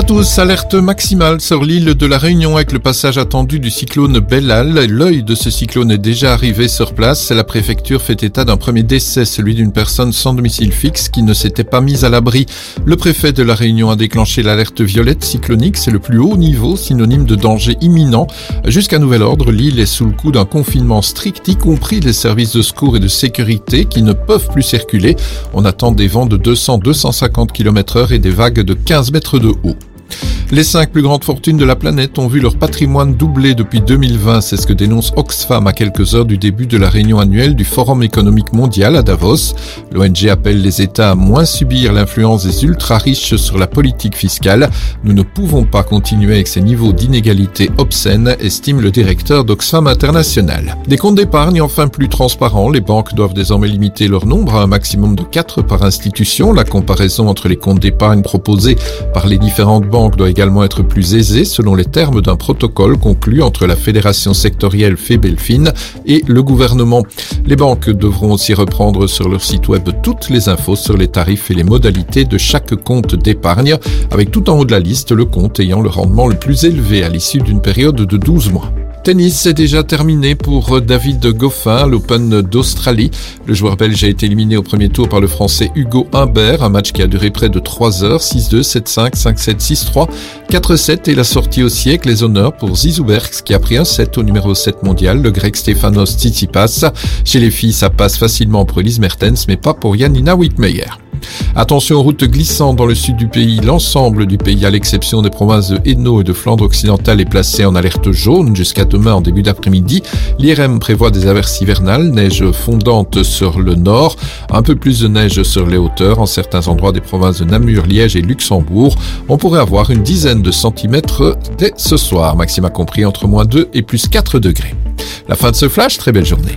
à tous, alerte maximale sur l'île de la Réunion avec le passage attendu du cyclone Bellal. L'œil de ce cyclone est déjà arrivé sur place. La préfecture fait état d'un premier décès, celui d'une personne sans domicile fixe qui ne s'était pas mise à l'abri. Le préfet de la Réunion a déclenché l'alerte violette cyclonique, c'est le plus haut niveau, synonyme de danger imminent. Jusqu'à nouvel ordre, l'île est sous le coup d'un confinement strict, y compris les services de secours et de sécurité qui ne peuvent plus circuler. On attend des vents de 200-250 km/h et des vagues de 15 mètres de haut. Les 5 plus grandes fortunes de la planète ont vu leur patrimoine doubler depuis 2020. C'est ce que dénonce Oxfam à quelques heures du début de la réunion annuelle du Forum économique mondial à Davos. L'ONG appelle les États à moins subir l'influence des ultra-riches sur la politique fiscale. Nous ne pouvons pas continuer avec ces niveaux d'inégalité obscènes, estime le directeur d'Oxfam International. Des comptes d'épargne enfin plus transparents. Les banques doivent désormais limiter leur nombre à un maximum de 4 par institution. La comparaison entre les comptes d'épargne proposés par les différentes banques doit également être plus aisée selon les termes d'un protocole conclu entre la fédération sectorielle Febelfin et le gouvernement. Les banques devront aussi reprendre sur leur site web toutes les infos sur les tarifs et les modalités de chaque compte d'épargne, avec tout en haut de la liste le compte ayant le rendement le plus élevé à l'issue d'une période de 12 mois. Tennis, c'est déjà terminé pour David Goffin à l'Open d'Australie. Le joueur belge a été éliminé au premier tour par le français Hugo Humbert, un match qui a duré près de 3 heures, 6-2, 7-5, 5-7, 6-3, 4-7 et la sortie au siècle, les honneurs pour Zizou Bergs qui a pris un set au numéro 7 mondial, le grec Stefanos Tsitsipas. Chez les filles, ça passe facilement pour Elise Mertens, mais pas pour Janina Wittmeyer. Attention aux routes glissantes dans le sud du pays. L'ensemble du pays, à l'exception des provinces de Hainaut et de Flandre occidentale, est placé en alerte jaune jusqu'à demain en début d'après-midi. L'IRM prévoit des averses hivernales, neige fondante sur le nord, un peu plus de neige sur les hauteurs. En certains endroits des provinces de Namur, Liège et Luxembourg, on pourrait avoir une dizaine de centimètres dès ce soir. Maxima compris entre -2 et +4 degrés. La fin de ce flash, très belle journée.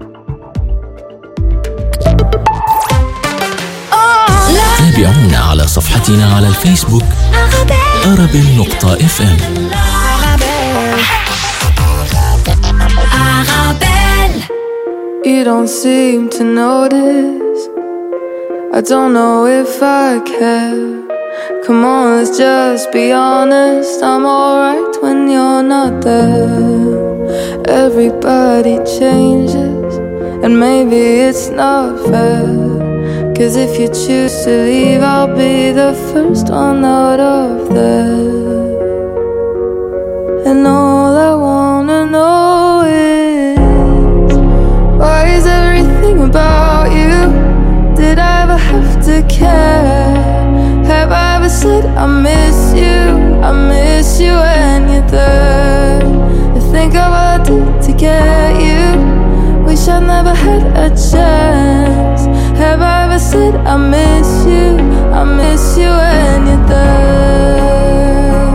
تابعونا على صفحتنا على الفيسبوك arabelle.fm. You don't seem to notice. I don't know if I care. Come on, let's just be honest. I'm alright when you're not there. Everybody changes, and maybe it's not fair. 'Cause if you choose to leave, I'll be the first one out of there. And all I wanna know is, why is everything about you? Did I ever have to care? Have I ever said I miss you when you're there? I think of what I did to get you. Wish I never had a chance. Have I ever said I miss you when you're there?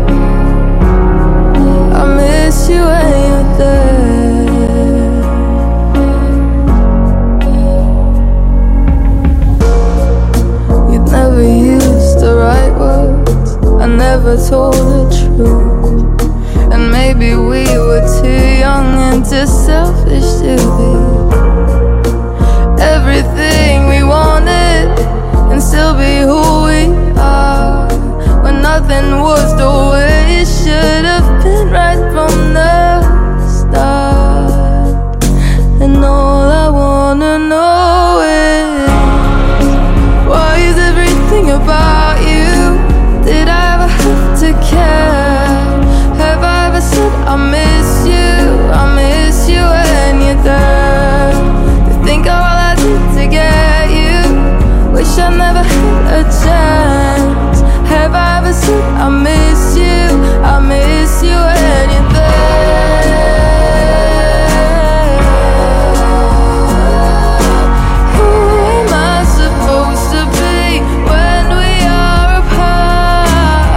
I miss you when you're there. We've never used the right words, I never told the truth. And maybe we were too young and too selfish to be everything we wanted and still be who we are, when nothing was the way it should have been right from the start. And all I wanna know is, why is everything about you? Did I ever have to care? Have I ever said I miss you when you're there? To think of all I did to get you, wish I never had a chance. Have I ever said I miss you when you're there? Who am I supposed to be when we are apart?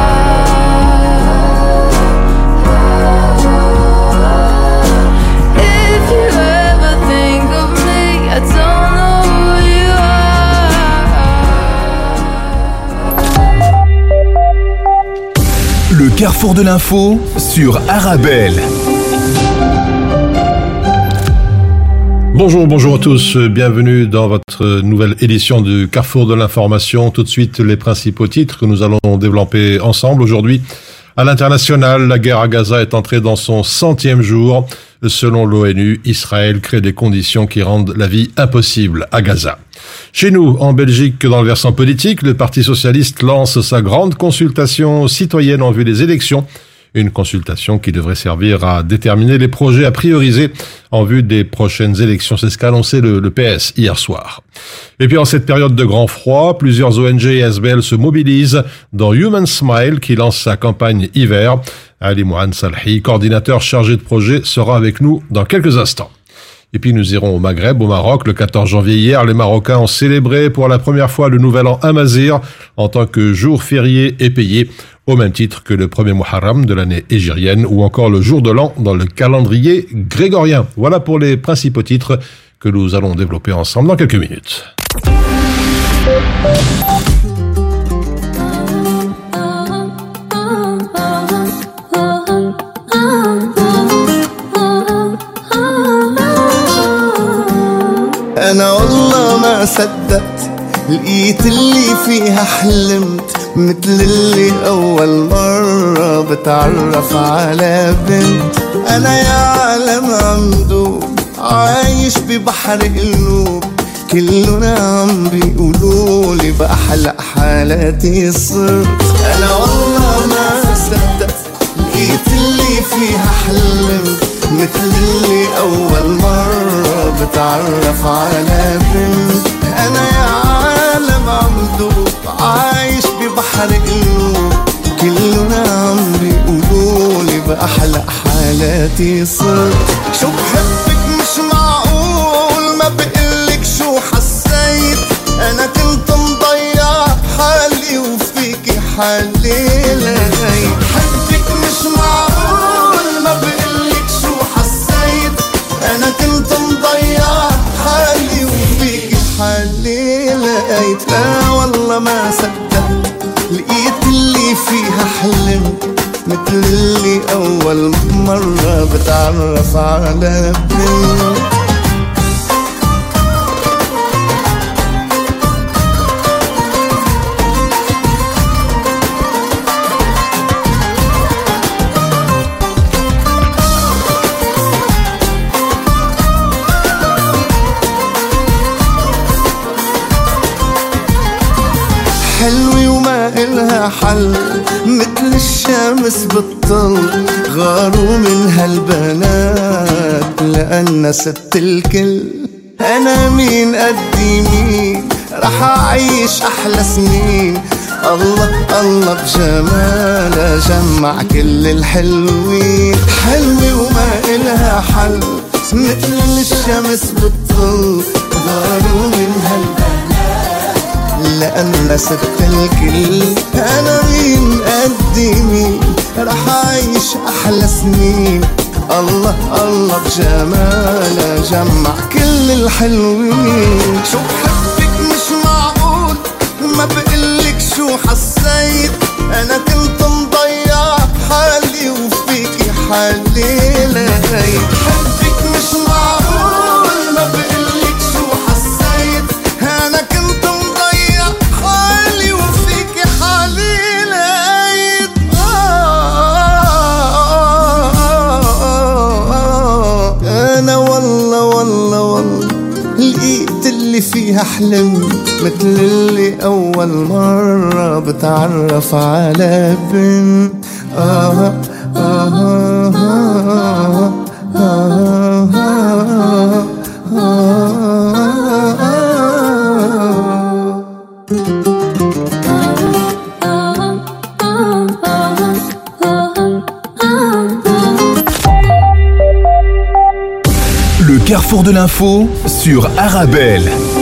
If you ever think of me, I don't know who you are. Le carrefour de l'info sur Arabelle. Bonjour à tous, bienvenue dans votre nouvelle édition du Carrefour de l'information. Tout de suite, les principaux titres que nous allons développer ensemble aujourd'hui. À l'international, la guerre à Gaza est entrée dans son 100e jour. Selon l'ONU, Israël crée des conditions qui rendent la vie impossible à Gaza. Chez nous, en Belgique, dans le versant politique, le Parti socialiste lance sa grande consultation citoyenne en vue des élections. Une consultation qui devrait servir à déterminer les projets à prioriser en vue des prochaines élections. C'est ce qu'a annoncé le PS hier soir. Et puis en cette période de grand froid, plusieurs ONG et SBL se mobilisent dans Human Smile qui lance sa campagne hiver. Ali Mouhan Salhi, coordinateur chargé de projet, sera avec nous dans quelques instants. Et puis nous irons au Maghreb, au Maroc. Le 14 janvier hier, les Marocains ont célébré pour la première fois le Nouvel An Amazigh en tant que jour férié et payé, au même titre que le premier Muharram de l'année hégirienne ou encore le jour de l'an dans le calendrier grégorien. Voilà pour les principaux titres que nous allons développer ensemble dans quelques minutes. أنا والله ما صدقت لقيت اللي فيها حلمت مثل اللي أول مرة بتعرف على بنت. أنا يا عالم عمدوب عايش ببحر قلوب كلنا عم بيقولولي بأحلى حالاتي صرت. أنا والله ما صدقت لقيت اللي فيها حلمت مثل اللي أول مرة بتعرف على بنت. أنا يا عالم عمدوب عايش ببحر قلوب كلنا عم بيقولولي بأحلى حالاتي صرت. شو بحبك مش معقول ما بقلك شو حسيت. أنا كنت مضيع حالي وفيكي حالي لغيت. حبك مش معقول ما بقلك شو حسيت. أنا كنت مضيع حالي وفيكي حالي لقيت. لا والله ما صدقت لقيت اللي فيها حلمت مثل اللي أول مرة بتعرف على بنت. حلوة وما إلها حل مثل الشمس بالطل. غاروا من هالبنات لأن ست الكل. أنا مين قدي مين رح أعيش أحلى سنين. الله الله بجمالها جمع كل الحلوين. حلوة وما إلها حل مثل الشمس بالطل. غاروا من هالبنات لأن ست الكل. أنا مين قدي مين رح أعيش أحلى سنين. الله الله بجمالها جمع كل الحلوين. شو بحبك مش معقول ما بقلك شو حسيت. أنا كنت مضيع حالي وفيكي حالي لغيت. حبك مش معقول ما بقلك شو حسيت. أنا كنت مضيع حالي وفيكي حالي لقيت. أنا والله والله والله لقيت اللي فيها حلم مثل اللي أول مرة بتعرف على بنت. Le carrefour de l'info sur Arabelle.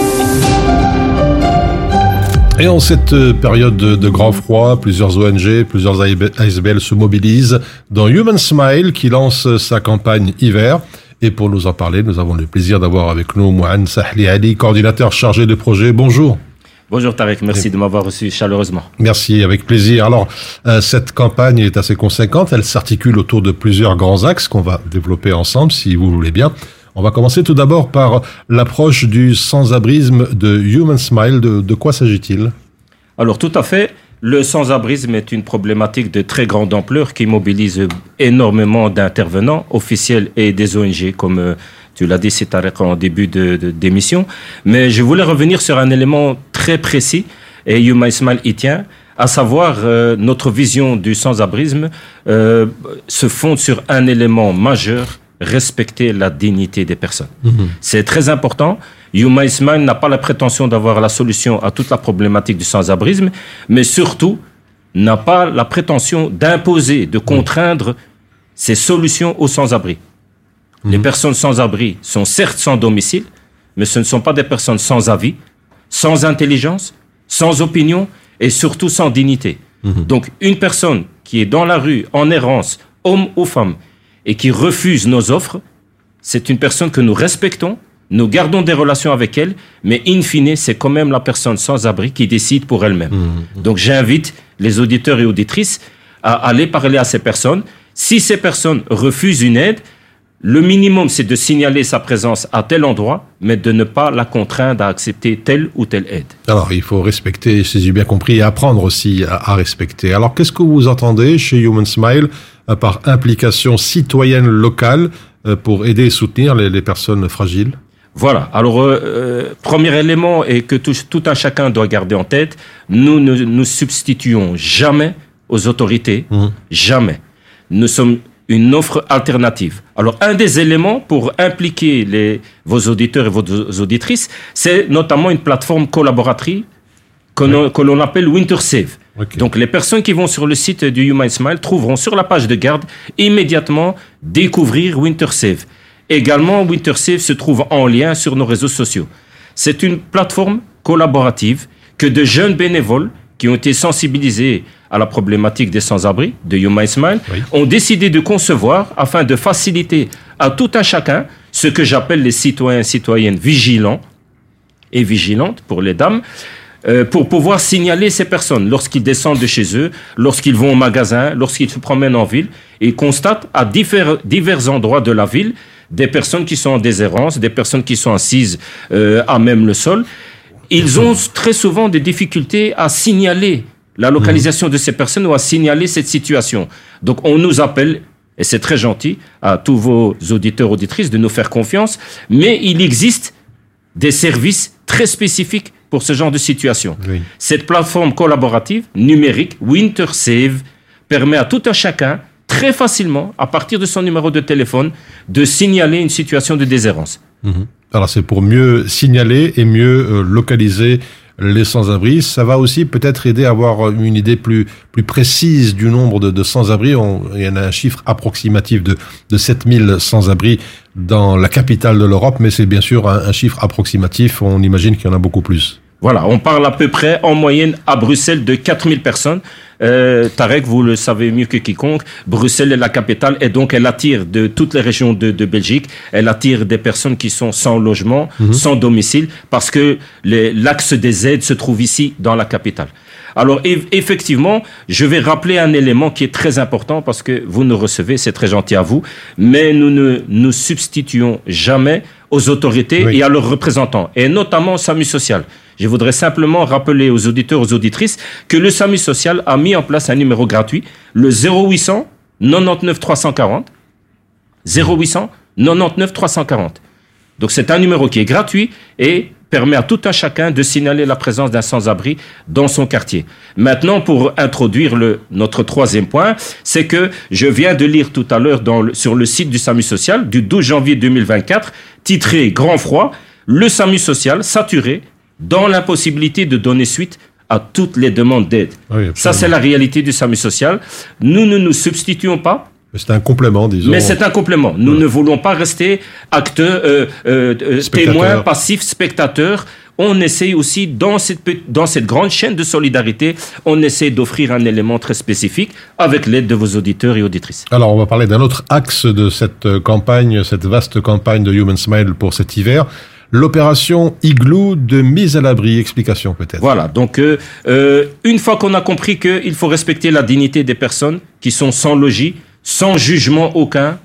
Et en cette période de grand froid, plusieurs ONG, plusieurs ASBL se mobilisent dans Human Smile qui lance sa campagne hiver. Et pour nous en parler, nous avons le plaisir d'avoir avec nous Mouhan Salhi Ali, coordinateur chargé de projet. Bonjour. Bonjour Tarek, merci de m'avoir reçu chaleureusement. Merci, avec plaisir. Alors, cette campagne est assez conséquente, elle s'articule autour de plusieurs grands axes qu'on va développer ensemble, si vous voulez bien. On va commencer tout d'abord par l'approche du sans-abrisme de Human Smile. De quoi s'agit-il? Alors tout à fait, le sans-abrisme est une problématique de très grande ampleur qui mobilise énormément d'intervenants officiels et des ONG, comme tu l'as dit, c'est Tarek en début d'émission. Mais je voulais revenir sur un élément très précis, et Human Smile y tient, à savoir notre vision du sans-abrisme se fonde sur un élément majeur, respecter la dignité des personnes. C'est très important. Human Smile n'a pas la prétention d'avoir la solution à toute la problématique du sans-abrisme, mais surtout n'a pas la prétention d'imposer, de contraindre ces solutions aux sans-abri. Les personnes sans-abri sont certes sans domicile, mais ce ne sont pas des personnes sans avis, sans intelligence, sans opinion et surtout sans dignité. Donc une personne qui est dans la rue, en errance, homme ou femme, et qui refuse nos offres, c'est une personne que nous respectons, nous gardons des relations avec elle, mais in fine, c'est quand même la personne sans abri qui décide pour elle-même. Donc j'invite les auditeurs et auditrices à aller parler à ces personnes. Si ces personnes refusent une aide, le minimum, c'est de signaler sa présence à tel endroit, mais de ne pas la contraindre à accepter telle ou telle aide. Alors, il faut respecter, si j'ai bien compris, et apprendre aussi à respecter. Alors, qu'est-ce que vous entendez chez Human Smile par implication citoyenne locale pour aider et soutenir les personnes fragiles? Voilà. Alors, premier élément et que tout un chacun doit garder en tête, nous ne nous substituons jamais aux autorités, jamais. Nous sommes une offre alternative. Alors, un des éléments pour impliquer vos auditeurs et vos auditrices, c'est notamment une plateforme collaboratrice que l'on appelle WinterSave. Okay. Donc, les personnes qui vont sur le site du Human Smile trouveront sur la page de garde immédiatement découvrir WinterSave. Également, WinterSave se trouve en lien sur nos réseaux sociaux. C'est une plateforme collaborative que de jeunes bénévoles qui ont été sensibilisés à la problématique des sans-abri de Human Smile ont décidé de concevoir afin de faciliter à tout un chacun ce que j'appelle les citoyens et citoyennes vigilants et vigilantes pour les dames, pour pouvoir signaler ces personnes lorsqu'ils descendent de chez eux, lorsqu'ils vont au magasin, lorsqu'ils se promènent en ville et constatent à divers endroits de la ville des personnes qui sont en déshérence, des personnes qui sont assises à même le sol. Ils ont très souvent des difficultés à signaler la localisation de ces personnes ou à signaler cette situation. Donc on nous appelle, et c'est très gentil à tous vos auditeurs, auditrices de nous faire confiance, mais il existe des services très spécifiques pour ce genre de situation. Cette plateforme collaborative numérique, WinterSave, permet à tout un chacun, très facilement, à partir de son numéro de téléphone, de signaler une situation de déshérence. Alors c'est pour mieux signaler et mieux localiser les sans-abri. Ça va aussi peut-être aider à avoir une idée plus précise du nombre de sans-abri. Il y en a un chiffre approximatif de 7000 sans-abri dans la capitale de l'Europe, mais c'est bien sûr un chiffre approximatif. On imagine qu'il y en a beaucoup plus. Voilà, on parle à peu près en moyenne à Bruxelles de 4000 personnes. Tarek, vous le savez mieux que quiconque, Bruxelles est la capitale et donc elle attire de toutes les régions de Belgique, elle attire des personnes qui sont sans logement, sans domicile, parce que l'axe des aides se trouve ici dans la capitale. Alors effectivement, je vais rappeler un élément qui est très important parce que vous nous recevez, c'est très gentil à vous, mais nous ne nous substituons jamais aux autorités et à leurs représentants, et notamment au SAMU social. Je voudrais simplement rappeler aux auditeurs, aux auditrices, que le SAMU social a mis en place un numéro gratuit, le 0800 99 340, 0800 99 340. Donc c'est un numéro qui est gratuit et permet à tout un chacun de signaler la présence d'un sans-abri dans son quartier. Maintenant, pour introduire notre troisième point, c'est que je viens de lire tout à l'heure sur le site du SAMU social du 12 janvier 2024, titré « Grand froid », le SAMU social saturé dans l'impossibilité de donner suite à toutes les demandes d'aide. Oui, ça, c'est la réalité du SAMU social. Nous ne nous substituons pas. C'est un complément, disons. Mais c'est un complément. Nous ne voulons pas rester acteurs, témoins, passifs, spectateurs. On essaye aussi, dans cette grande chaîne de solidarité, on essaie d'offrir un élément très spécifique avec l'aide de vos auditeurs et auditrices. Alors, on va parler d'un autre axe de cette campagne, cette vaste campagne de Human Smile pour cet hiver. L'opération Igloo de mise à l'abri. Explication peut-être. Voilà, donc une fois qu'on a compris qu'il faut respecter la dignité des personnes qui sont sans logis, sans jugement aucun,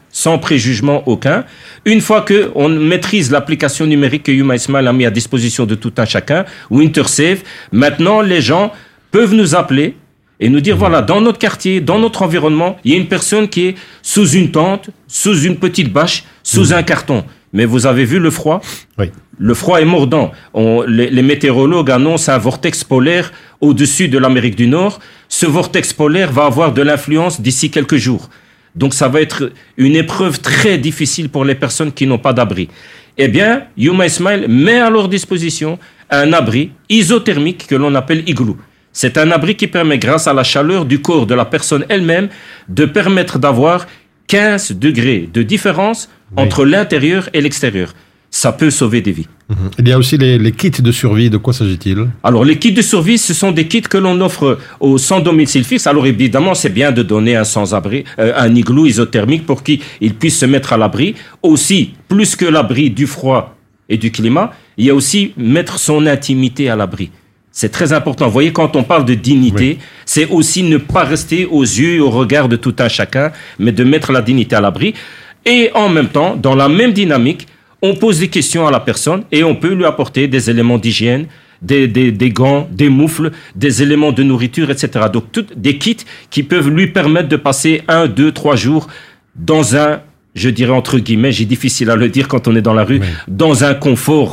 sans préjugement aucun. Une fois qu'on maîtrise l'application numérique que Human Smile a mis à disposition de tout un chacun, WinterSafe, maintenant les gens peuvent nous appeler et nous dire, voilà, dans notre quartier, dans notre environnement, il y a une personne qui est sous une tente, sous une petite bâche, sous un carton. Mais vous avez vu le froid ? Oui. Le froid est mordant. Les météorologues annoncent un vortex polaire au-dessus de l'Amérique du Nord. Ce vortex polaire va avoir de l'influence d'ici quelques jours. Donc ça va être une épreuve très difficile pour les personnes qui n'ont pas d'abri. Eh bien, Human Smile met à leur disposition un abri isothermique que l'on appelle igloo. C'est un abri qui permet, grâce à la chaleur du corps de la personne elle-même, de permettre d'avoir 15 degrés de différence entre l'intérieur et l'extérieur. Ça peut sauver des vies. Il y a aussi les kits de survie. De quoi s'agit-il ? Alors, les kits de survie, ce sont des kits que l'on offre aux sans domicile fixe. Alors, évidemment, c'est bien de donner un sans-abri, un igloo isothermique pour qu'il puisse se mettre à l'abri. Aussi, plus que l'abri du froid et du climat, il y a aussi mettre son intimité à l'abri. C'est très important. Vous voyez, quand on parle de dignité, c'est aussi ne pas rester aux yeux et au regard de tout un chacun, mais de mettre la dignité à l'abri. Et en même temps, dans la même dynamique, on pose des questions à la personne et on peut lui apporter des éléments d'hygiène, des gants, des moufles, des éléments de nourriture, etc. Donc, des kits qui peuvent lui permettre de passer 1, 2, 3 jours dans un, je dirais entre guillemets, j'ai difficile à le dire quand on est dans la rue, dans un confort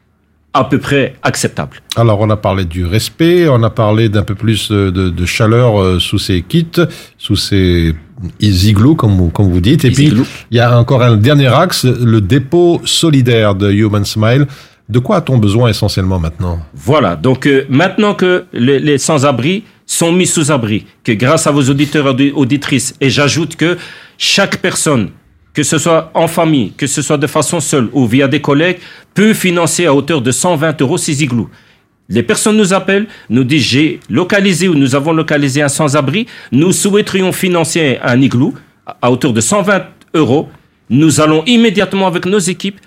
à peu près acceptable. Alors, on a parlé du respect, on a parlé d'un peu plus de chaleur sous ces kits, sous ces igloos, comme vous dites. Et puis, il y a encore un dernier axe, le dépôt solidaire de Human Smile. De quoi a-t-on besoin essentiellement maintenant ? Voilà, donc maintenant que les sans-abri sont mis sous abri, que grâce à vos auditeurs et auditrices, et j'ajoute que chaque personne, que ce soit en famille, que ce soit de façon seule ou via des collègues, peut financer à hauteur de 120 € ces igloos. Les personnes nous appellent, nous disent j'ai localisé ou nous avons localisé un sans-abri, nous souhaiterions financer un igloo à hauteur de 120 €. Nous allons immédiatement avec nos équipes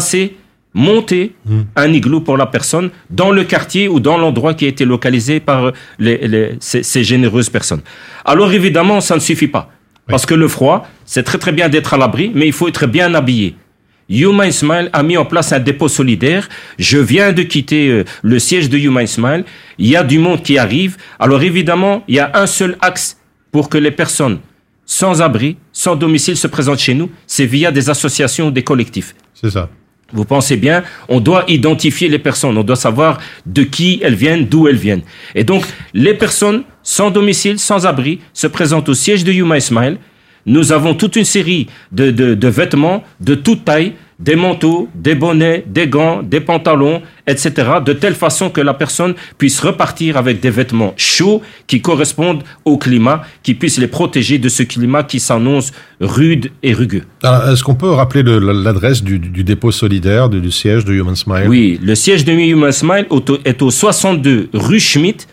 monter un igloo pour la personne dans le quartier ou dans l'endroit qui a été localisé par ces généreuses personnes. Alors évidemment, ça ne suffit pas. Parce que le froid, c'est très très bien d'être à l'abri, mais il faut être bien habillé. Human Smile a mis en place un dépôt solidaire. Je viens de quitter le siège de Human Smile. Il y a du monde qui arrive. Alors évidemment, il y a un seul axe pour que les personnes sans abri, sans domicile se présentent chez nous. C'est via des associations ou des collectifs. C'est ça. Vous pensez bien, on doit identifier les personnes, on doit savoir de qui elles viennent, d'où elles viennent. Et donc, les personnes sans domicile, sans abri, se présentent au siège de Human Smile. Nous avons toute une série de vêtements de toute taille, des manteaux, des bonnets, des gants, des pantalons, etc., de telle façon que la personne puisse repartir avec des vêtements chauds qui correspondent au climat, qui puissent les protéger de ce climat qui s'annonce rude et rugueux. Alors, est-ce qu'on peut rappeler l'adresse du dépôt solidaire, du siège de Human Smile ? Oui, le siège de Human Smile est au 62 rue Schmitt,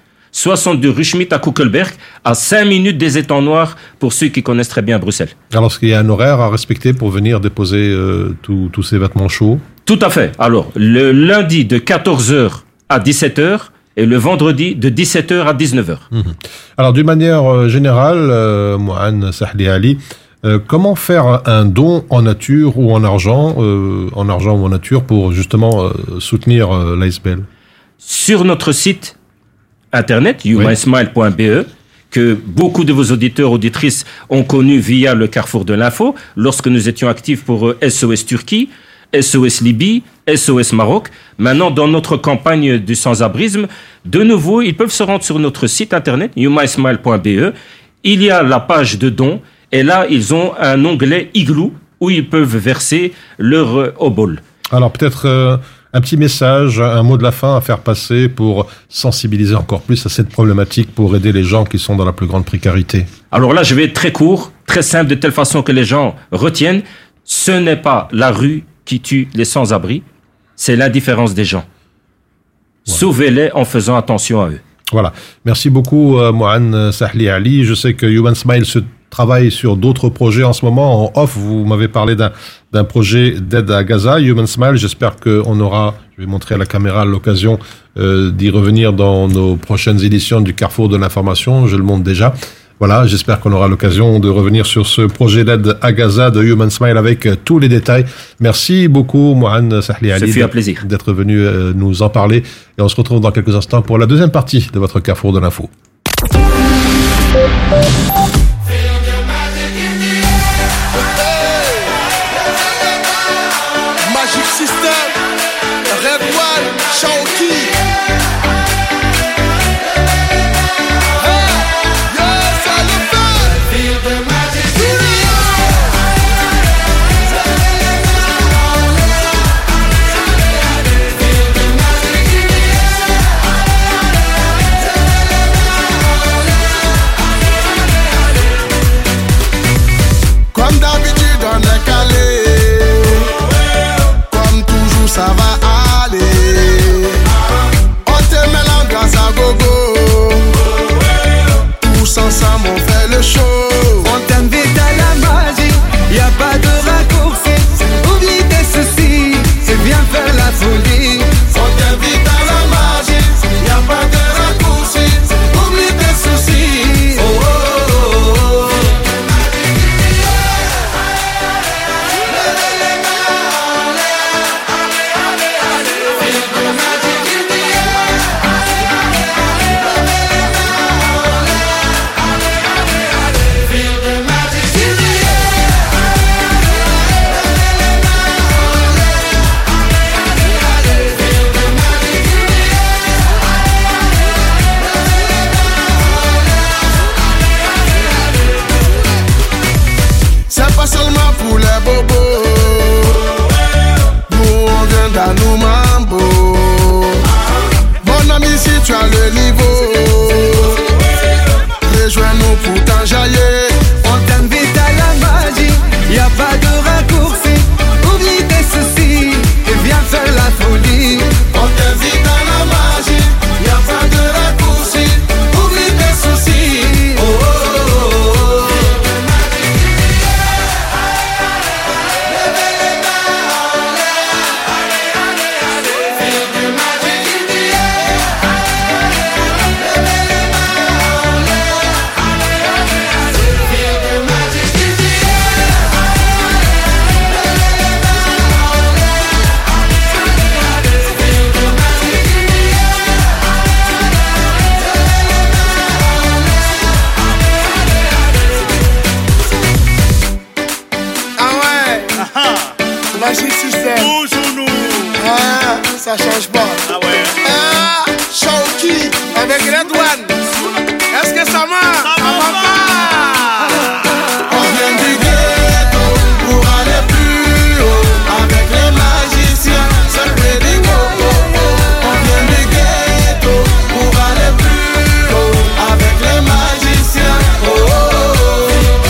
à Kuckelberg, à 5 minutes des étangs noirs, pour ceux qui connaissent très bien Bruxelles. Alors, est-ce qu'il y a un horaire à respecter pour venir déposer tous ces vêtements chauds ? Tout à fait. Alors, le lundi de 14h à 17h et le vendredi de 17h à 19h. Alors, d'une manière générale, Mouane Sahli Ali, comment faire un don en nature ou en argent ou en nature pour justement soutenir l'ASBL ? Sur notre site Internet, humansmile.be, que beaucoup de vos auditeurs, auditrices ont connu via le Carrefour de l'Info, lorsque nous étions actifs pour SOS Turquie, SOS Libye, SOS Maroc. Maintenant, dans notre campagne du sans-abrisme, de nouveau, ils peuvent se rendre sur notre site Internet, humansmile.be. Il y a la page de dons, et là, ils ont un onglet igloo où ils peuvent verser leur obol. Alors, peut-être... un petit message, un mot de la fin à faire passer pour sensibiliser encore plus à cette problématique, pour aider les gens qui sont dans la plus grande précarité. Alors là, je vais être très court, très simple, de telle façon que les gens retiennent. Ce n'est pas la rue qui tue les sans-abri, c'est l'indifférence des gens. Ouais. Sauvez-les en faisant attention à eux. Voilà. Merci beaucoup, Mouane Sahli Ali. Je sais que Human Smile se travaille sur d'autres projets en ce moment. En off, vous m'avez parlé d'un projet d'aide à Gaza, Human Smile. J'espère qu'on aura, je vais montrer à la caméra, l'occasion d'y revenir dans nos prochaines éditions du Carrefour de l'information. Je le montre déjà. Voilà, j'espère qu'on aura l'occasion de revenir sur ce projet d'aide à Gaza de Human Smile avec tous les détails. Merci beaucoup, Mouhan Sahli Ali, d'être venu nous en parler. Et on se retrouve dans quelques instants pour la deuxième partie de votre Carrefour de l'info. Magic System, Red One, Shaoki. Comme d'habitude on est calé, comme toujours ça va aller. On te met l'ambiance à gogo, tous ensemble on fait le show. On t'invite à la magie, y a pas de raccourci. Oublie tes soucis, c'est bien faire la folie. On t'invite à la magie, y a pas de raccourci. Oublie tes soucis. Oh, oh, oh, oh. C'est pas seulement pour les bobos, nous on vient dans nos mambo. Mon ami, si tu as le niveau, rejoins-nous pour t'enjailler. On t'invite à la magie, y a pas de raccourci. Oublie tes soucis, et viens faire la folie. On t'invite à la magie, y a pas de raccourci. Oublie tes soucis. Oh, oh, oh, oh. Magic System. Toujours nous. Ah, ça change pas. Ah ouais. Ah, Shaoki avec Red One. Est-ce que ça marche? Ça va pas. On vient du ghetto pour aller plus haut. Avec les magiciens, c'est ready go. On vient du ghetto pour aller plus haut. Avec les magiciens. Oh, oh, oh.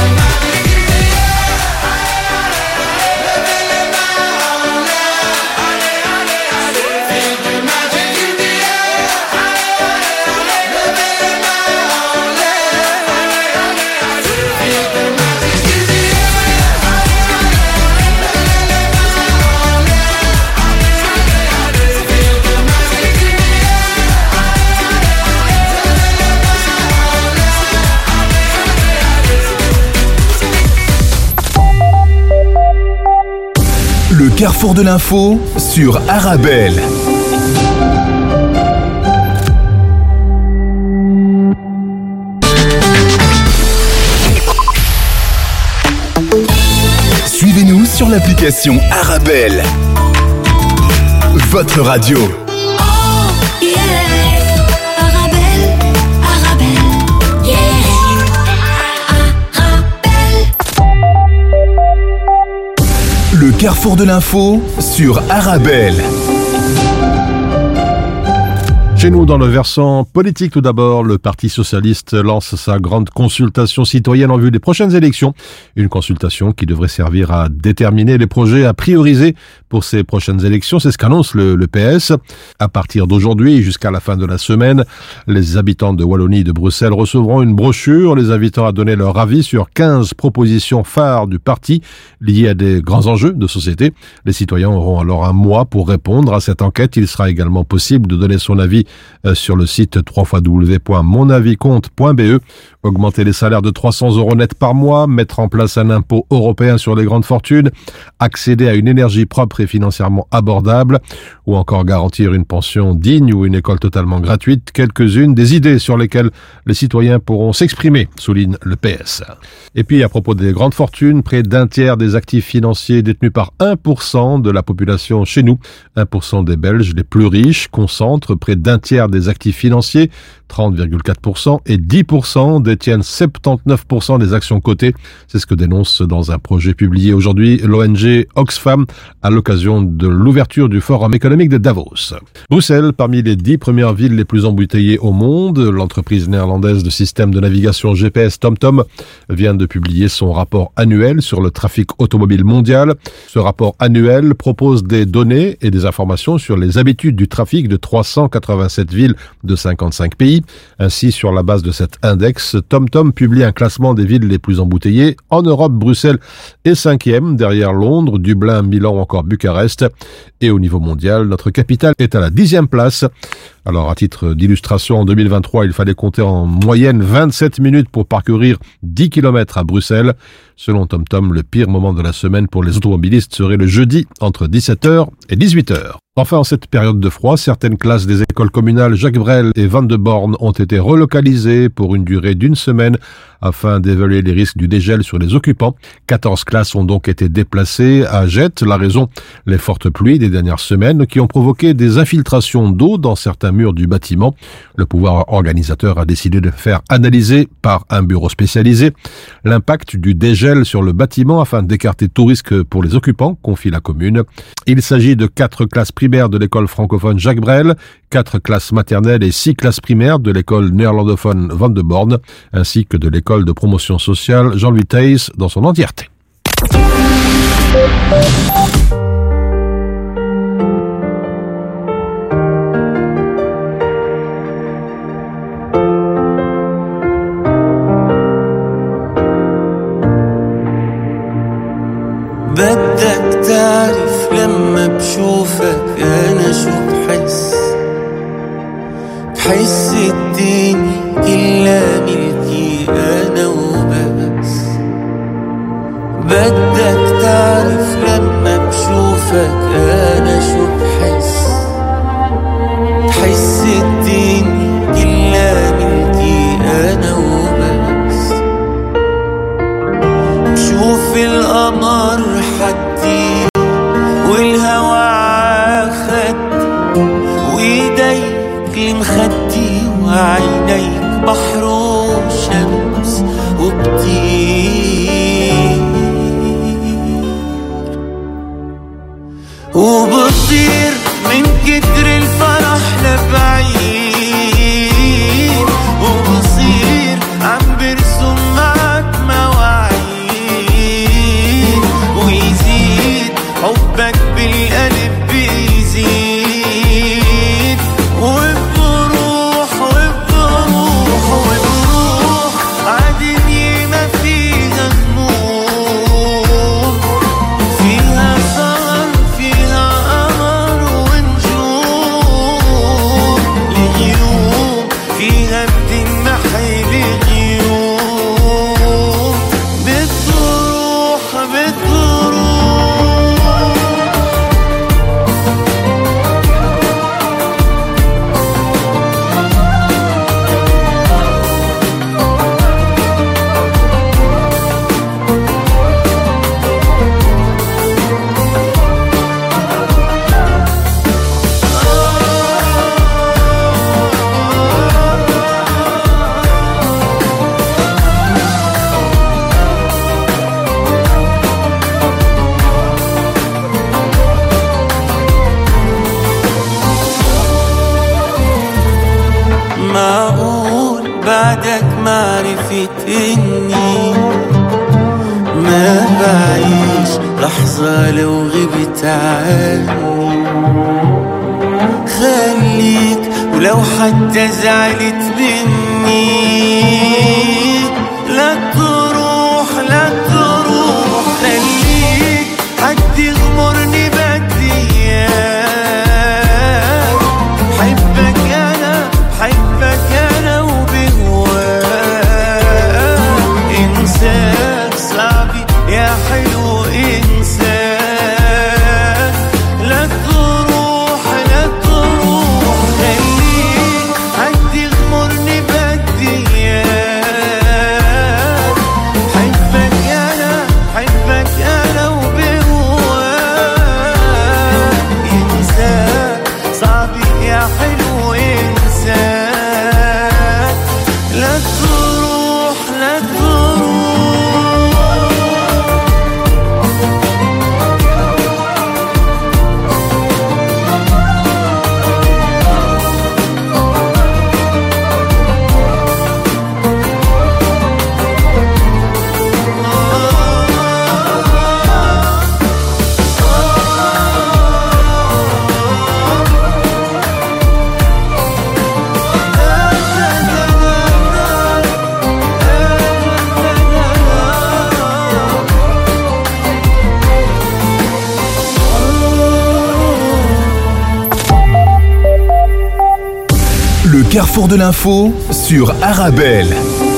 Le Carrefour de l'info sur Arabelle. Suivez-nous sur l'application Arabelle. Votre radio. Le Carrefour de l'info sur Arabelle. Chez nous, dans le versant politique, tout d'abord, le Parti socialiste lance sa grande consultation citoyenne en vue des prochaines élections. Une consultation qui devrait servir à déterminer les projets à prioriser pour ces prochaines élections. C'est ce qu'annonce le PS. À partir d'aujourd'hui jusqu'à la fin de la semaine, les habitants de Wallonie et de Bruxelles recevront une brochure les invitant à donner leur avis sur 15 propositions phares du parti liées à des grands enjeux de société. Les citoyens auront alors un mois pour répondre à cette enquête. Il sera également possible de donner son avis sur le site www.monaviscompte.be Augmenter les salaires de 300 € net par mois, mettre en place un impôt européen sur les grandes fortunes, accéder à une énergie propre et financièrement abordable, ou encore garantir une pension digne ou une école totalement gratuite, quelques-unes des idées sur lesquelles les citoyens pourront s'exprimer, souligne le PS. Et puis, à propos des grandes fortunes, près d'un tiers des actifs financiers détenus par 1% de la population chez nous, 1% des Belges les plus riches, concentrent près d'un tiers des actifs financiers, 30,4%, et 10% détiennent 79% des actions cotées. C'est ce que dénonce dans un projet publié aujourd'hui l'ONG Oxfam à l'occasion de l'ouverture du Forum économique de Davos. Bruxelles, parmi les 10 premières villes les plus embouteillées au monde, l'entreprise néerlandaise de système de navigation GPS TomTom vient de publier son rapport annuel sur le trafic automobile mondial. Ce rapport annuel propose des données et des informations sur les habitudes du trafic de 387 villes de 55 pays. Ainsi, sur la base de cet index, TomTom publie un classement des villes les plus embouteillées. En Europe, Bruxelles est 5e, derrière Londres, Dublin, Milan ou encore Bucarest. Et au niveau mondial, notre capitale est à la 10e place. Alors, à titre d'illustration, en 2023, il fallait compter en moyenne 27 minutes pour parcourir 10 km à Bruxelles. Selon TomTom, le pire moment de la semaine pour les automobilistes serait le jeudi entre 17h et 18h. Enfin, en cette période de froid, certaines classes des écoles communales Jacques Brel et Van de Born ont été relocalisées pour une durée d'1 semaine afin d'évaluer les risques du dégel sur les occupants. 14 classes ont donc été déplacées à Jette. La raison, les fortes pluies des dernières semaines qui ont provoqué des infiltrations d'eau dans certains murs du bâtiment. Le pouvoir organisateur a décidé de faire analyser par un bureau spécialisé l'impact du dégel sur le bâtiment afin d'écarter tout risque pour les occupants, confie la commune. Il s'agit de 4 classes primaires de l'école francophone Jacques Brel, 4 classes maternelles et 6 classes primaires de l'école néerlandophone Van de Born, ainsi que de l'école de promotion sociale Jean-Louis Thijs dans son entièreté. بدك تعرف لما بشوفك أنا شو بحس الدنيا كلها ملكي أنا وبس. بدك تعرف لما بشوفك أنا شو بحس الدنيا كلها ملكي أنا وبس. بشوف القمر حدي والهوى عاخد وايديك المخدي وعينيك بحر وشمس وبطير من كتر الفرح لبعيد وبصير عم برسم معك مواعيد ويزيد حبك بالقلب بيزيد وبروح عالدنيا ما فيها هموم فيها سهر فيها قمر ونجوم اليوم فيها بتنمحي الغيوم بتروح معقول بعدك معرفة إني ما بعيش لحظة لو غبت عني. خليك ولو حتى زعلت مني لا تروح خليك حد يغمرني بدي إياك حبك أنا وبهواك carrefour de l'info sur Arabelle.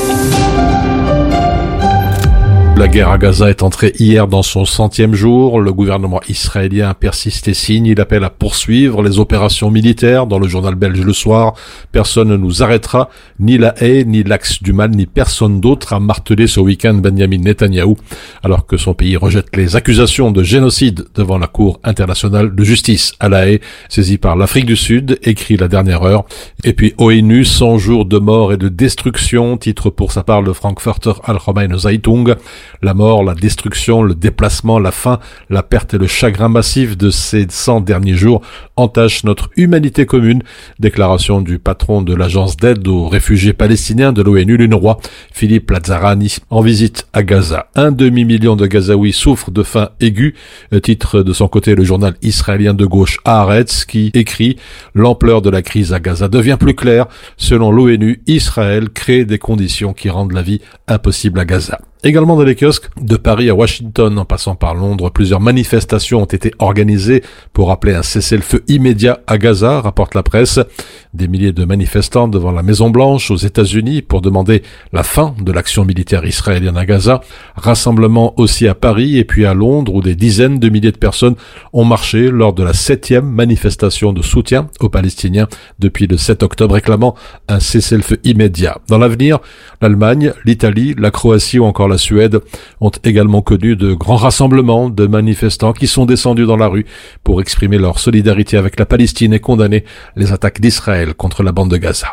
La guerre à Gaza est entrée hier dans son 100e jour. Le gouvernement israélien persiste et signe. Il appelle à poursuivre les opérations militaires. Dans le journal belge Le Soir, personne ne nous arrêtera, ni la haie, ni l'axe du mal, ni personne d'autre, a martelé ce week-end Benjamin Netanyahou, alors que son pays rejette les accusations de génocide devant la Cour internationale de justice à la Haye, saisie par l'Afrique du Sud, écrit La Dernière Heure. Et puis ONU, 100 jours de mort et de destruction, titre pour sa part le Frankfurter Allgemeine Zeitung. La mort, la destruction, le déplacement, la faim, la perte et le chagrin massif de ces 100 derniers jours entachent notre humanité commune. Déclaration du patron de l'agence d'aide aux réfugiés palestiniens de l'ONU, l'UNRWA, Philippe Lazzarani, en visite à Gaza. 1,5 million de Gazaouis souffrent de faim aiguë. Titre de son côté le journal israélien de gauche Haaretz, qui écrit « L'ampleur de la crise à Gaza devient plus claire. Selon l'ONU, Israël crée des conditions qui rendent la vie impossible à Gaza ». Également dans les kiosques, de Paris à Washington, en passant par Londres, plusieurs manifestations ont été organisées pour appeler un cessez-le-feu immédiat à Gaza, rapporte la presse. Des milliers de manifestants devant la Maison-Blanche aux États-Unis pour demander la fin de l'action militaire israélienne à Gaza. Rassemblement aussi à Paris et puis à Londres où des dizaines de milliers de personnes ont marché lors de la 7e manifestation de soutien aux Palestiniens depuis le 7 octobre réclamant un cessez-le-feu immédiat. Dans l'avenir, l'Allemagne, l'Italie, la Croatie ou encore la Suède ont également connu de grands rassemblements de manifestants qui sont descendus dans la rue pour exprimer leur solidarité avec la Palestine et condamner les attaques d'Israël contre la bande de Gaza.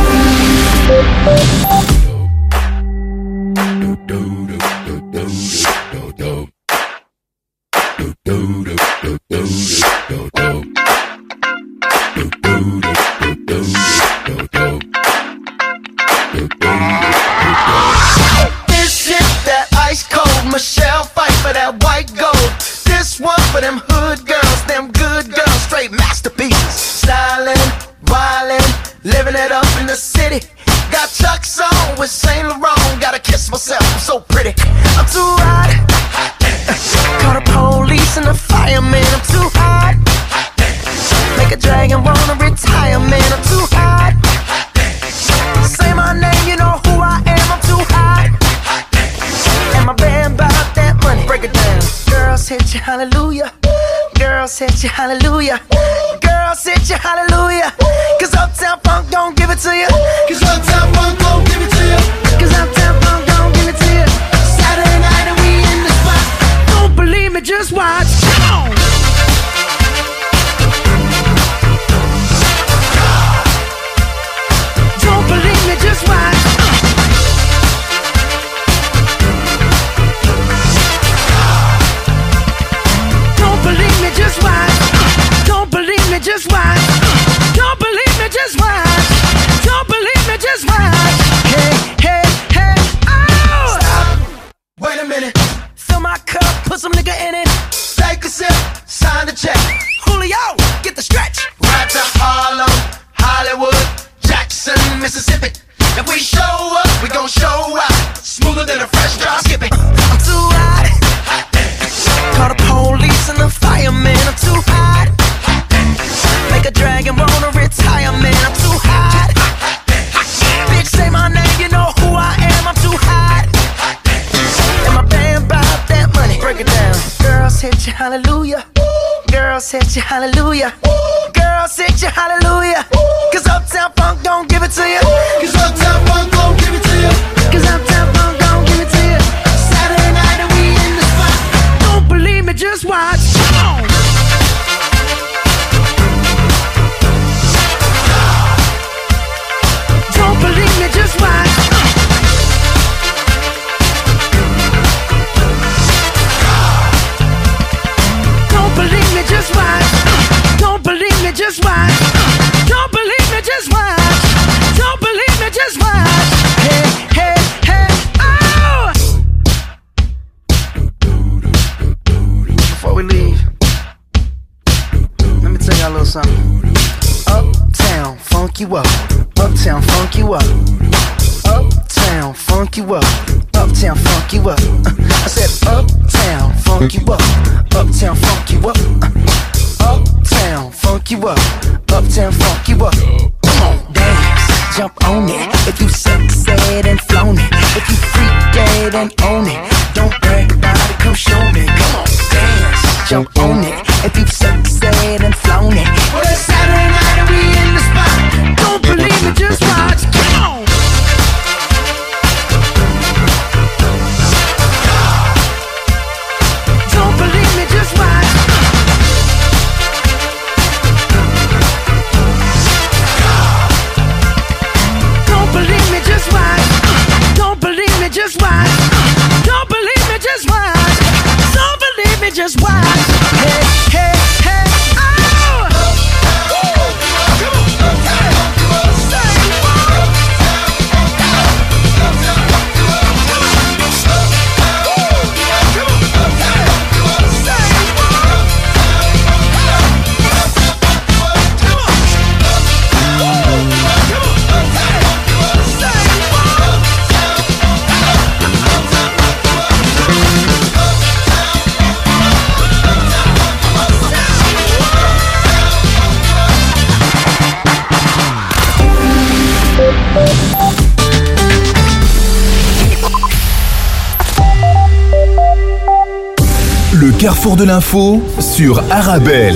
Michelle fight for that white gold. This one for them hood girls, them good girls, straight masterpieces. Styling, wildin', living it up in the city. Got Chuck's on with Saint Laurent. Gotta kiss myself, I'm so pretty. I'm too hot. Call the police and the fireman. I'm too hot. Make a dragon wanna retire, man. I'm too hot. Say my name, you know who I am. I'm too hot. And my band bought that money. Break it down. Girls hit you, hallelujah. Girls hit you, hallelujah. Girls hit you, hallelujah. Cause Uptown Funk don't give it to you. Cause Uptown Funk don't give it to you. Cause Uptown Funk don't give it to you. Saturday night and we in the spot. Don't believe me, just watch. Come on. Don't believe me, just watch. Just watch. Don't believe me, just watch. Don't believe me, just watch. Don't believe me, just watch. Hey, hey, hey, oh! Stop. Wait a minute. Fill my cup, put some nigga in it. Take a sip, sign the check. Julio, get the stretch. Right to Harlem, Hollywood, Jackson, Mississippi. If we show up, we gon' show out. Smoother than a fresh drop. Skip it. I'm too hot. Call the police and the fireman. I'm too hot. Make a dragon wanna retire, man. I'm too hot. Bitch, say my name, you know who I am. I'm too hot. And my band bought that money. Break it down. Girls hit you, hallelujah. Girls hit you, hallelujah. Girls hit you, hallelujah. Cause Uptown Funk don't give it to you. Cause Uptown Funk don't give it to you. Cause Uptown Funk don't give it to you. Saturday night and we in the spot. Don't believe me, just watch. Come on. Don't believe me, just watch. Don't believe me, just watch. Don't believe me, just watch. Don't believe me, just watch. Don't believe me, just watch. Hey, hey, hey, oh! Before we leave, let me tell y'all a little something. Uptown, funk you up. Uptown, funk you up. Uptown, funk you up. Uptown, funk you up. I said uptown, funk you up. Uptown, funk you up. Uptown, funk you up. Uptown, funk you up. Come on, dance. jump on it. If you succeed and flown it, if you freak dead and own it, don't brag about it, come show me. Come on, dance, jump on it. If you succeed and flown it, well, it's Saturday night and we in the spot. Don't believe me, just watch. Come on. Don't believe me, just watch. Don't believe me, just watch. Don't believe me, just watch. Don't believe me, just watch. Don't believe me, just watch. Hey, hey, hey, oh! Le carrefour de l'info sur Arabelle.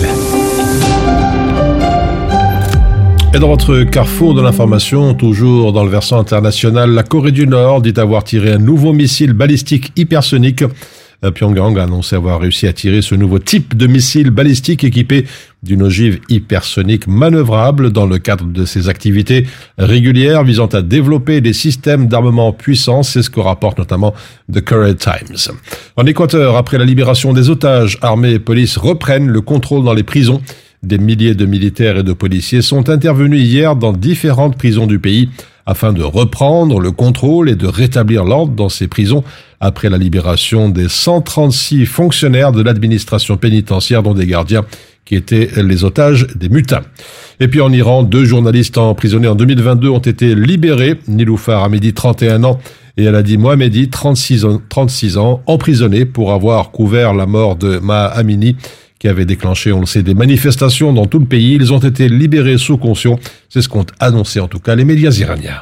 Et dans votre carrefour de l'information, toujours dans le versant international, la Corée du Nord dit avoir tiré un nouveau missile balistique hypersonique. Pyongyang a annoncé avoir réussi à tirer ce nouveau type de missile balistique équipé d'une ogive hypersonique manœuvrable dans le cadre de ses activités régulières visant à développer des systèmes d'armement puissants. C'est ce que rapporte notamment The Korea Times. En Équateur, après la libération des otages, armée et police reprennent le contrôle dans les prisons. Des milliers de militaires et de policiers sont intervenus hier dans différentes prisons du pays afin de reprendre le contrôle et de rétablir l'ordre dans ces prisons après la libération des 136 fonctionnaires de l'administration pénitentiaire, dont des gardiens qui étaient les otages des mutins. Et puis en Iran, 2 journalistes emprisonnés en 2022 ont été libérés. Niloufar Hamidi, 31 ans, et Aladi Mohamedi, 36 ans, emprisonnés pour avoir couvert la mort de Maha Amini, qui avait déclenché, on le sait, des manifestations dans tout le pays. Ils ont été libérés sous caution. C'est ce qu'ont annoncé en tout cas les médias iraniens.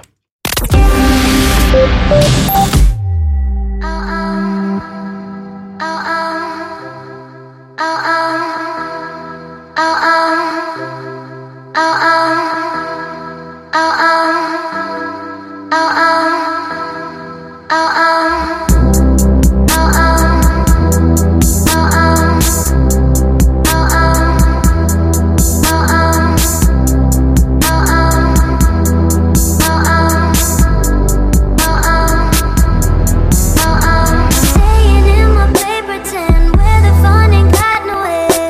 Staying in my paper tin where the fun ain't got no end.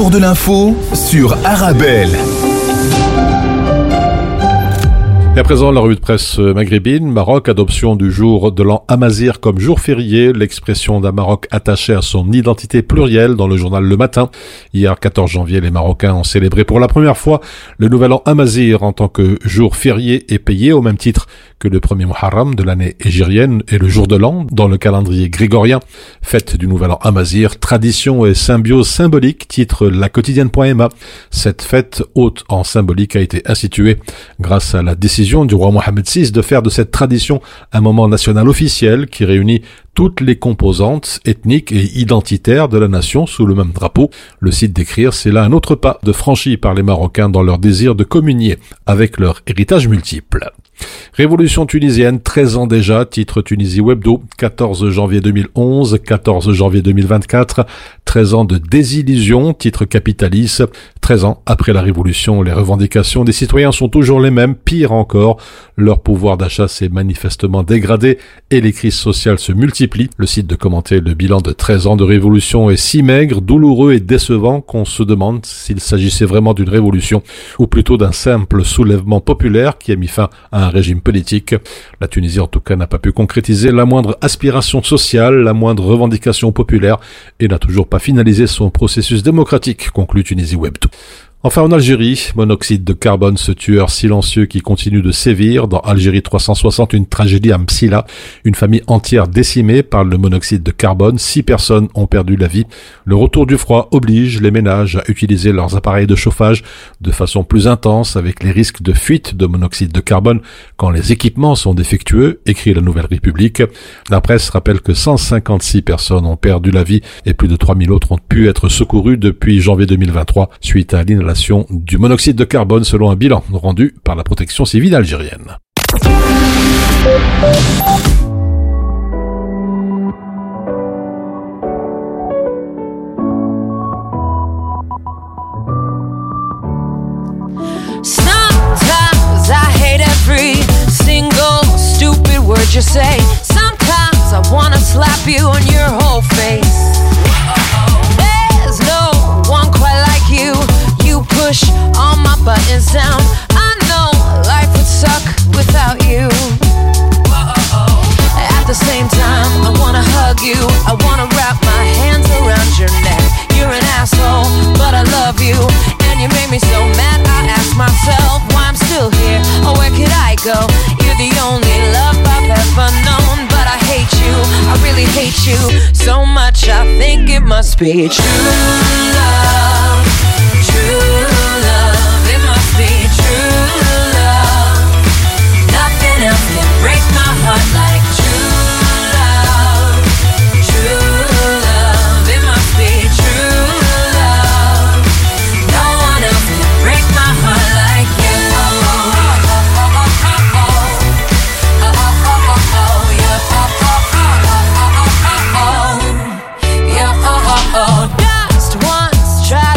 Carrefour de l'info sur Arabelle. Et à présent, la revue de presse maghrébine. Maroc, adoption du jour de l'an Amazigh comme jour férié, l'expression d'un Maroc attaché à son identité plurielle dans le journal Le Matin. Hier, 14 janvier, les Marocains ont célébré pour la première fois le nouvel an Amazigh en tant que jour férié et payé au même titre que le premier Muharram de l'année hégirienne et le jour de l'an dans le calendrier grégorien. Fête du nouvel an Amazigh, tradition et symbiose symbolique, titre la quotidienne.ma. Cette fête haute en symbolique a été instituée grâce à la décision du roi Mohamed VI de faire de cette tradition un moment national officiel qui réunit toutes les composantes ethniques et identitaires de la nation sous le même drapeau. Le site d'écrire, c'est là un autre pas de franchi par les Marocains dans leur désir de communier avec leur héritage multiple. Révolution tunisienne, 13 ans déjà, titre Tunisie Webdo, 14 janvier 2011, 14 janvier 2024, 13 ans de désillusion, titre Capitalis, 13 ans après la révolution, les revendications des citoyens sont toujours les mêmes, pire encore, leur pouvoir d'achat s'est manifestement dégradé et les crises sociales se multiplient. Le site de commenter le bilan de 13 ans de révolution est si maigre, douloureux et décevant qu'on se demande s'il s'agissait vraiment d'une révolution ou plutôt d'un simple soulèvement populaire qui a mis fin à un régime politique. La Tunisie en tout cas n'a pas pu concrétiser la moindre aspiration sociale, la moindre revendication populaire et n'a toujours pas finalisé son processus démocratique, conclut Tunisie Webdo. Enfin, en Algérie, monoxyde de carbone, ce tueur silencieux qui continue de sévir. Dans Algérie 360, une tragédie à Msila. Une famille entière décimée par le monoxyde de carbone. 6 personnes ont perdu la vie. Le retour du froid oblige les ménages à utiliser leurs appareils de chauffage de façon plus intense avec les risques de fuite de monoxyde de carbone quand les équipements sont défectueux, écrit la Nouvelle République. La presse rappelle que 156 personnes ont perdu la vie et plus de 3000 autres ont pu être secourues depuis janvier 2023 suite à l'inhalation du monoxyde de carbone selon un bilan rendu par la protection civile algérienne. Sometimes I hate every single stupid word you say. Sometimes I wanna slap you on your whole face. There's no one quite like you. You push all my buttons down. I know life would suck without you. At the same time, I wanna hug you. I wanna wrap my hands around your neck. You're an asshole, but I love you. And you made me so mad, I ask myself why I'm still here, or where could I go? You're the only love I've ever known, but I hate you, I really hate you so much, I think it must be true love. True love, it must be true love. Nothing else can break my heart like true love. True love, it must be true love. No one else can break my heart like you. Just once try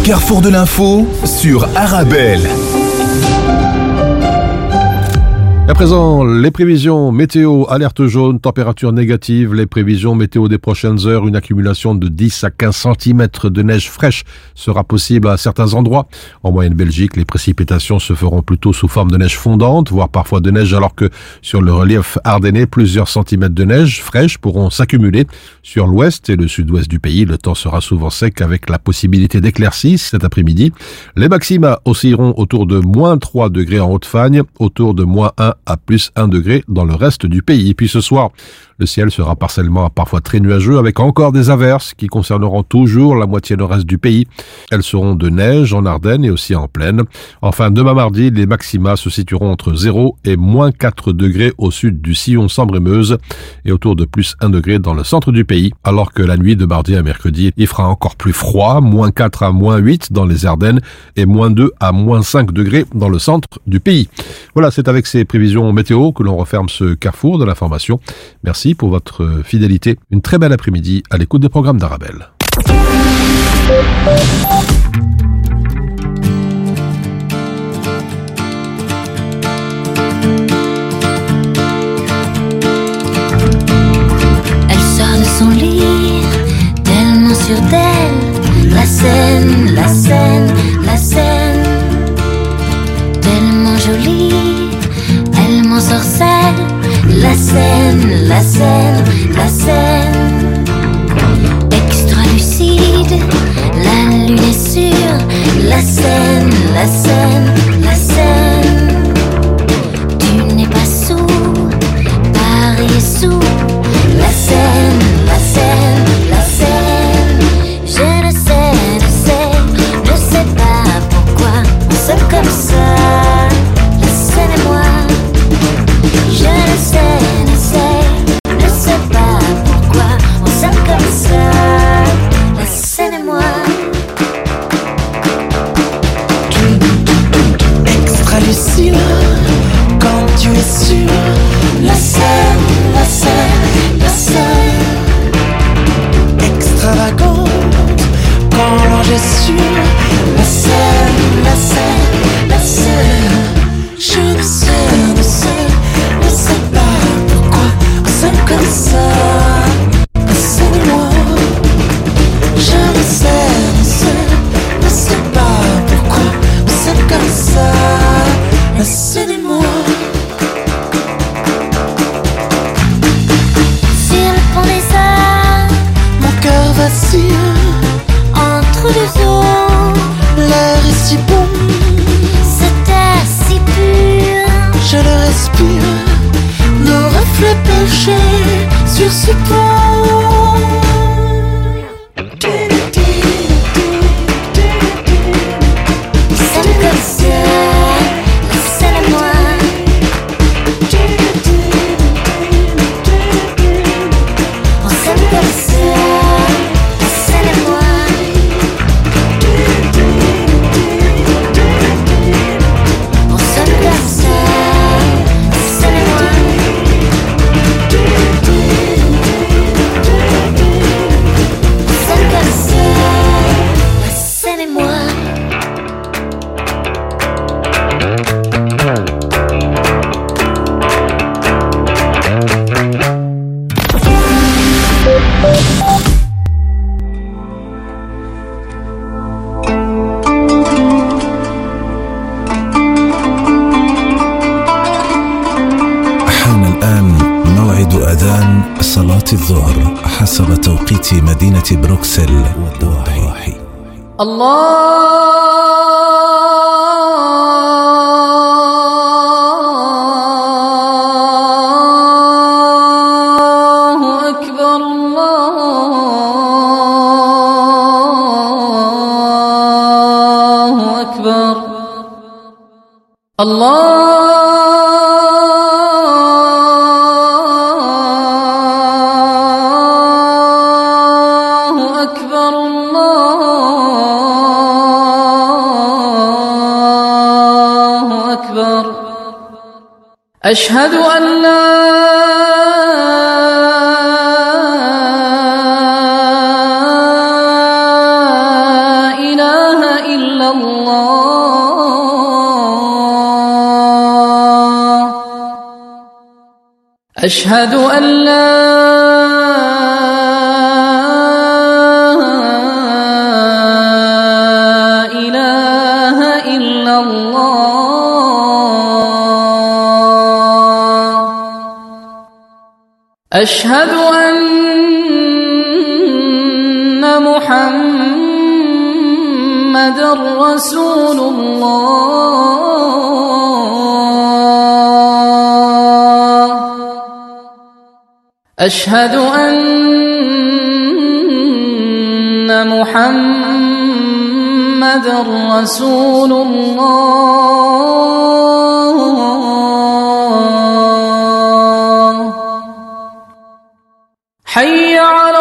carrefour de l'info sur Arabelle. À présent, les prévisions météo, alerte jaune, température négative, les prévisions météo des prochaines heures, une accumulation de 10 à 15 cm de neige fraîche sera possible à certains endroits. En moyenne Belgique, les précipitations se feront plutôt sous forme de neige fondante, voire parfois de neige, alors que sur le relief ardennais, plusieurs centimètres de neige fraîche pourront s'accumuler. Sur l'ouest et le sud-ouest du pays, le temps sera souvent sec avec la possibilité d'éclaircies cet après-midi. Les maxima oscilleront autour de moins 3 degrés en Haute-Fagne, autour de moins 1 à plus 1 degré dans le reste du pays. Et puis ce soir, le ciel sera partiellement parfois très nuageux avec encore des averses qui concerneront toujours la moitié nord-est du pays. Elles seront de neige en Ardennes et aussi en plaine. Enfin, demain mardi, les maxima se situeront entre 0 et moins 4 degrés au sud du sillon Sambre-et-Meuse et autour de plus 1 degré dans le centre du pays. Alors que la nuit de mardi à mercredi, il fera encore plus froid, moins 4 à moins 8 dans les Ardennes et moins 2 à moins 5 degrés dans le centre du pays. Voilà, c'est avec ces prévisions météo que l'on referme ce carrefour de l'information. Merci pour votre fidélité. Une très belle après-midi à l'écoute des programmes d'Arabelle. Elle sort de son lit, tellement sûre d'elle. La scène, la scène, la scène, tellement jolie, elle m'ensorcelle. La scène, la scène, la scène, extra lucide, la lune est sûre. La scène, la scène, la scène, tu n'es pas sous, Paris est sous. La scène, la scène, la scène, je ne sais pas pourquoi on s'aime comme ça. La scène et moi. Je ne sais pas pourquoi on s'aime comme ça. La scène et moi. Extra lucide, quand tu es sûr. La scène, la scène, la scène. Extravagante, quand l'ange est sûr. La scène, la scène, la scène. Je ne sais pas pourquoi on s'aime comme ça. La scène et moi. Je ne sais pas pourquoi on s'aime comme ça. La scène et moi. Sur le pont des Arts, mon cœur vacille entre deux eaux. L'air est si bon, cet air si pur, je le respire. Nos reflets penchés sur ce pont. c'est comme ça. La scène et moi. On s'aime comme ça. La scène et moi. On s'aime comme ça. La scène et moi. On s'aime comme ça. La scène et moi. حان الآن موعد أذان صلاة الظهر حسب توقيت مدينة بروكسل والضواحي. الله أكبر الله أكبر الله أكبر الله أكبر أشهد أن لا إله أشهد أن لا إله إلا الله أشهد أن محمدًا رسول الله أشهد أن محمدًا رسول الله حي على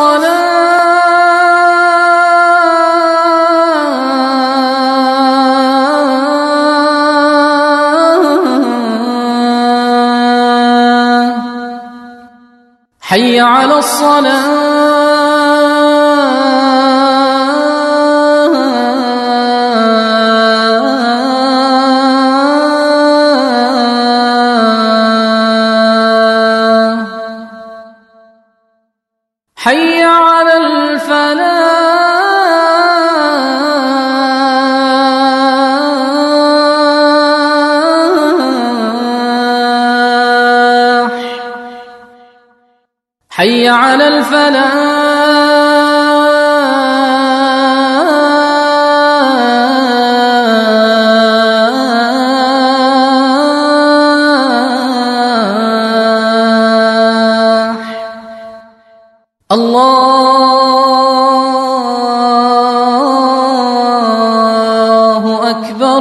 الصلاة حي على الصلاة حي على الفلاح حي على الفلاح الله أكبر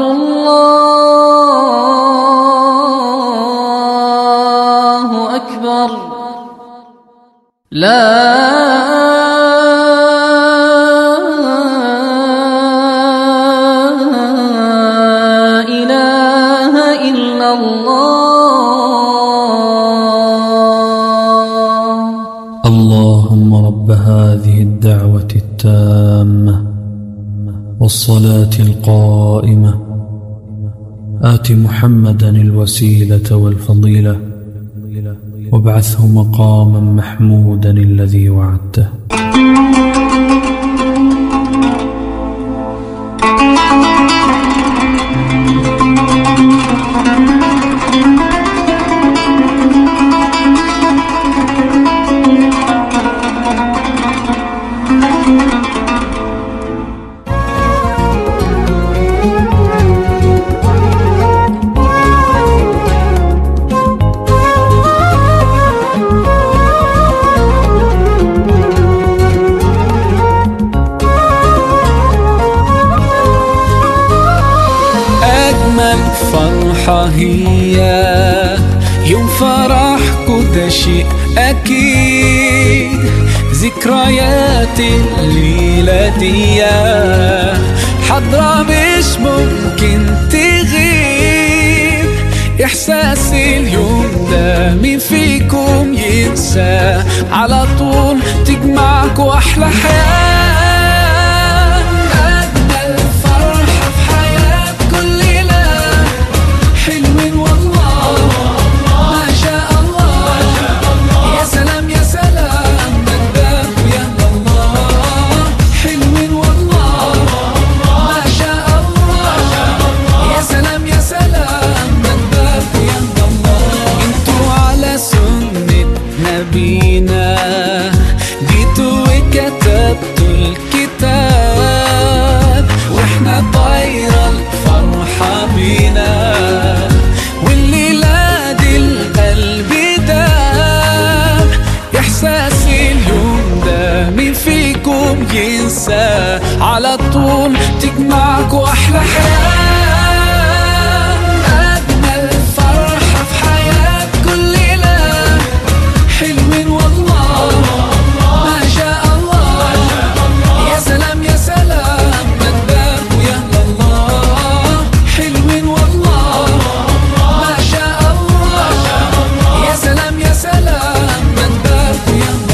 الله أكبر لا إله إلا الله اللهم رب هذه الدعوة التامة والصلاة القائمة آت محمدا الوسيلة والفضيلة وابعثه مقاما محمودا الذي وعدته فرحة هي يوم فرحكوا ده شيء أكيد ذكريات الليلة دي حضرة مش ممكن تغيب إحساس اليوم ده مين فيكم ينسى على طول تجمعكوا أحلى حياة على طول تجمعكوا أحلى حياة أجمل فرحة في حياة كل ليلة حلوين والله ما شاء الله يا سلام يا سلام مدباك ويا الله حلوين والله ما شاء الله يا سلام يا سلام مدباك ويا الله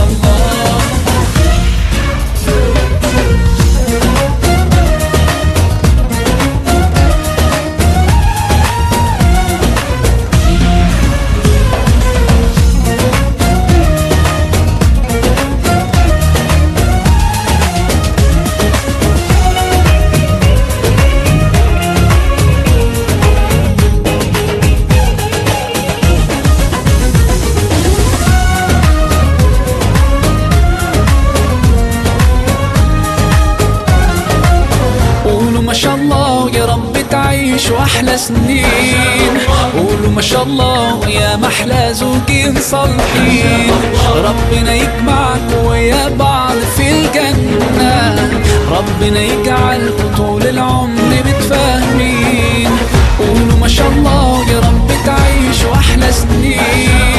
تعيشوا أحلى سنين. قولوا ما شاء الله يا محلى زوجين صالحين. ربنا يجمعكم ويا بعض في الجنة. ربنا يجعلكم طول العمر متفاهمين. قولوا ما شاء الله يا رب تعيشوا أحلى سنين.